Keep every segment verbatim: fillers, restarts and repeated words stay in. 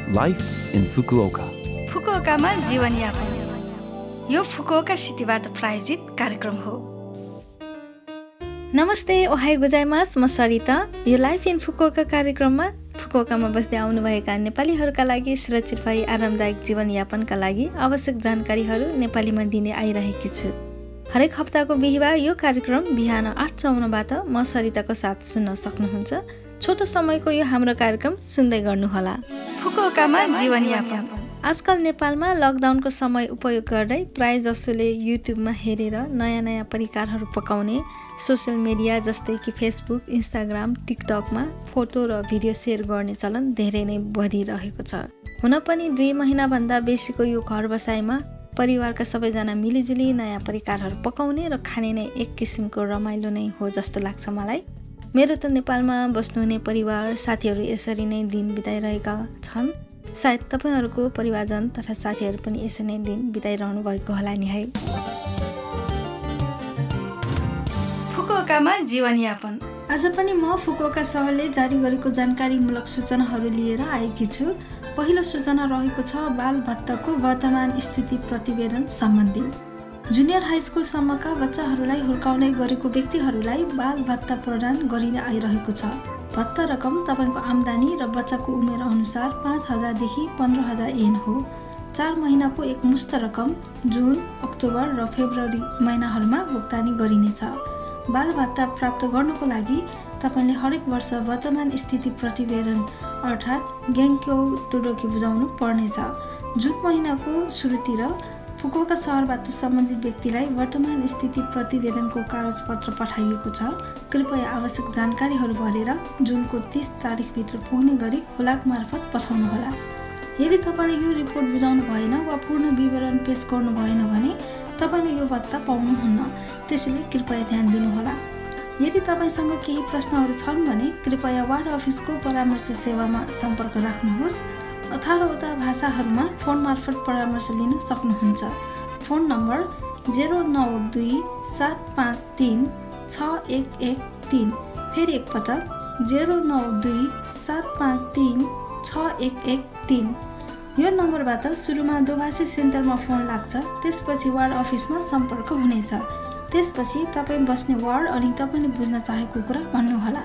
Life in Fukuoka. फुकुओकामा जीवनयापन यो Fukuoka सिटीबाट प्रायोजित कार्यक्रम हो। नमस्ते, ओहाई गोजाइमास, म सरिता। यो लाइफ इन फुकुओका कार्यक्रममा फुकुओकामा बस्दै आउनुभएका नेपालीहरूका लागि सुरक्षित भई आरामदायक जीवनयापनका लागि आवश्यक जानकारीहरू नेपालीमा दिने आइरहेकी छु। हरेक हप्ताको बिहिबार यो कार्यक्रम बिहान आठ चौवन्नबाट म सरिताको साथ सुन्न सक्नुहुन्छ। छोटो समयको यो हाम्रो कार्यक्रम सुन्दै गर्नुहोला। फुकुओकामा जीवनयापन। आजकल नेपालमा लकडाउनको समय उपयोग गर्दै प्राय जसोले युट्युबमा हेरेर नयाँ नयाँ परिकारहरू पकाउने, सोसियल मिडिया जस्तै कि फेसबुक, इन्स्टाग्राम, टिकटकमा फोटो र भिडियो सेयर गर्ने चलन धेरै नै बढिरहेको छ। हुन पनि दुई महिनाभन्दा बेसीको यो घर बसाइमा परिवारका सबैजना मिलिजुली नयाँ परिकारहरू पकाउने र खाने नै एक किसिमको रमाइलो नै हो जस्तो लाग्छ मलाई। मेरो त नेपालमा बस्नुहुने परिवार साथीहरू यसरी नै दिन बिताइरहेका छन्। सायद तपाईँहरूको परिवारजन तथा साथीहरू पनि यसरी नै दिन बिताइरहनु भएको होला नि है। फुकुओकामा जीवनयापन। आज पनि म फुकुओका सहरले जारी गरेको जानकारीमूलक सूचनाहरू लिएर आएकी छु। पहिलो सूचना रहेको छ बाल भत्ताको वर्तमान स्थिति प्रतिवेदन सम्बन्धी। जुनियर हाई स्कुलसम्मका बच्चाहरूलाई हुर्काउने गरेको व्यक्तिहरूलाई बाल भत्ता प्रदान गरिँदै आइरहेको छ। भत्ता रकम तपाईँको आम्दानी र बच्चाको उमेर अनुसार पाँच हजारदेखि पन्ध्र हजार एन हो। चार महिनाको एक मुक्त रकम जुन, अक्टोबर र फेब्रुअरी महिनाहरूमा भुक्तानी गरिनेछ। बाल भत्ता प्राप्त गर्नको लागि तपाईँले हरेक वर्ष वर्तमान स्थिति प्रतिवेदन अर्थात् ग्याङ्क्यो टोडोकी बुझाउनु पर्नेछ। जुन महिनाको सुरुतिर फुकुओका सहरबाट सम्बन्धित व्यक्तिलाई वर्तमान स्थिति प्रतिवेदनको कागजपत्र पठाइएको छ। कृपया आवश्यक जानकारीहरू भरेर जुनको तीस तारिकभित्र पुग्ने गरी हुलाक मार्फत पठाउनुहोला। यदि तपाईँले यो रिपोर्ट बुझाउनु भएन वा पूर्ण विवरण पेश गर्नु भएन भने तपाईँले यो भत्ता पाउनुहुन्न। त्यसैले कृपया ध्यान दिनुहोला। यदि तपाईँसँग केही प्रश्नहरू छन् भने कृपया वार्ड अफिसको परामर्श सेवामा सम्पर्क राख्नुहोस्। अठारवटा भाषाहरूमा फोन मार्फत परामर्श लिन सक्नुहुन्छ। फोन नम्बर जेरो नौ दुई सात पाँच तिन छ एक एक तिन। फेरि एकपटक जेरो नौ दुई सात पाँच तिन छ एक एक तिन। यो नम्बरबाट सुरुमा दोभाषी सेन्टरमा फोन लाग्छ, त्यसपछि वार्ड अफिसमा सम्पर्क हुनेछ। त्यसपछि तपाईँ बस्ने वार्ड अनि तपाईँले बुझ्न चाहेको कुरा भन्नुहोला।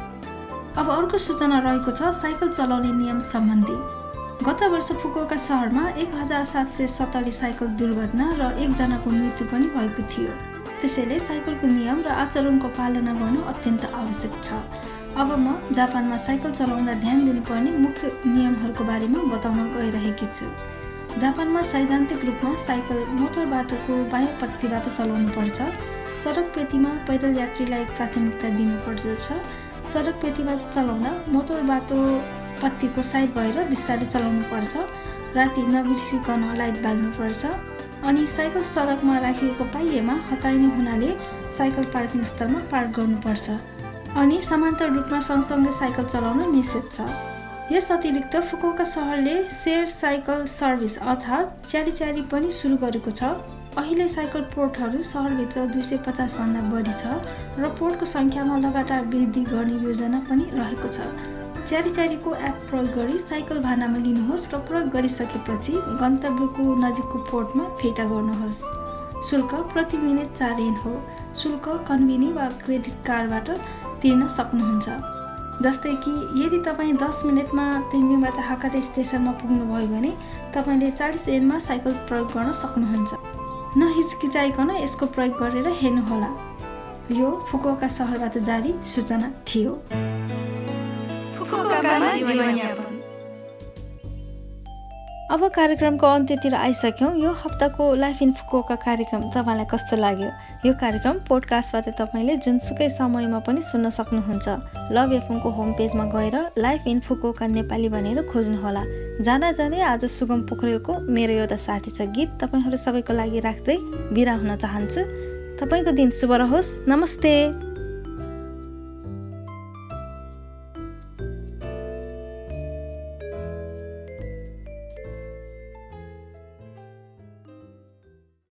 अब अर्को सूचना रहेको छ साइकल चलाउने नियम सम्बन्धी। गत वर्ष फुकुओका सहरमा एक हजार सात सय सत्तरी साइकल दुर्घटना र एकजनाको मृत्यु पनि भएको थियो। त्यसैले साइकलको नियम र आचरणको पालना गर्नु अत्यन्त आवश्यक छ। अब म जापानमा साइकल चलाउँदा ध्यान दिनुपर्ने मुख्य नियमहरूको बारेमा बताउन गइरहेकी छु। जापानमा सैद्धान्तिक रूपमा साइकल मोटर बाटोको बायाँ पट्टिबाट चलाउनु पर्छ। सडक पेटीमा पैदल यात्रीलाई प्राथमिकता दिनुपर्दछ। सडक पेटीबाट चलाउँदा मोटर बाटो पट्टीको साइड भएर बिस्तारै चलाउनु पर्छ। राति नबिर्सिकन लाइट बाल्नुपर्छ। अनि साइकल सडकमा राखिएको पाइएमा हटाइने हुनाले साइकल पार्किङ स्थलमा पार्क गर्नुपर्छ। अनि समान्तराल रूपमा सँगसँगै साइकल चलाउन निषेध छ। यस अतिरिक्त फुकुओका सहरले सेयर साइकल सर्भिस अर्थात् च्यारी च्यारी पनि सुरु गरेको छ। अहिले साइकल पोर्टहरू सहरभित्र दुई सय पचास भन्दा बढी छ र पोर्टको सङ्ख्यामा लगातार वृद्धि गर्ने योजना पनि रहेको छ। च्यारी च्यारीको एप प्रयोग गरी साइकल भाडामा लिनुहोस् र प्रयोग गरिसकेपछि गन्तव्यको नजिकको पोर्टमा फिर्ता गर्नुहोस्। शुल्क प्रति मिनेट चार एन हो। शुल्क कन्भिनी वा क्रेडिट कार्डबाट तिर्न सक्नुहुन्छ। जस्तै कि यदि तपाईँ दस मिनटमा तेन्जिङबाट हाकाते स्टेसनमा पुग्नुभयो भने तपाईँले चालिस एनमा साइकल प्रयोग गर्न सक्नुहुन्छ। नहिचकिचाइकन यसको प्रयोग गरेर हेर्नुहोला। यो फुकुओका सहरबाट जारी सूचना थियो। अब कार्यक्रमको अन्त्यतिर आइसक्यौँ। यो हप्ताको लाइफ इन फुकुओका कार्यक्रम तपाईँलाई कस्तो लाग्यो? यो कार्यक्रम पोडकास्टबाट तपाईँले जुनसुकै समयमा पनि सुन्न सक्नुहुन्छ। लभ एफएमको होम पेजमा गएर लाइफ इन फुकुओका नेपाली भनेर खोज्नुहोला। जाँदा जाँदै आज सुगम पोखरेलको मेरो एउटा साथी छ गीत तपाईँहरू सबैको लागि राख्दै बिदा हुन चाहन्छु। तपाईँको दिन शुभ रहोस्। नमस्ते।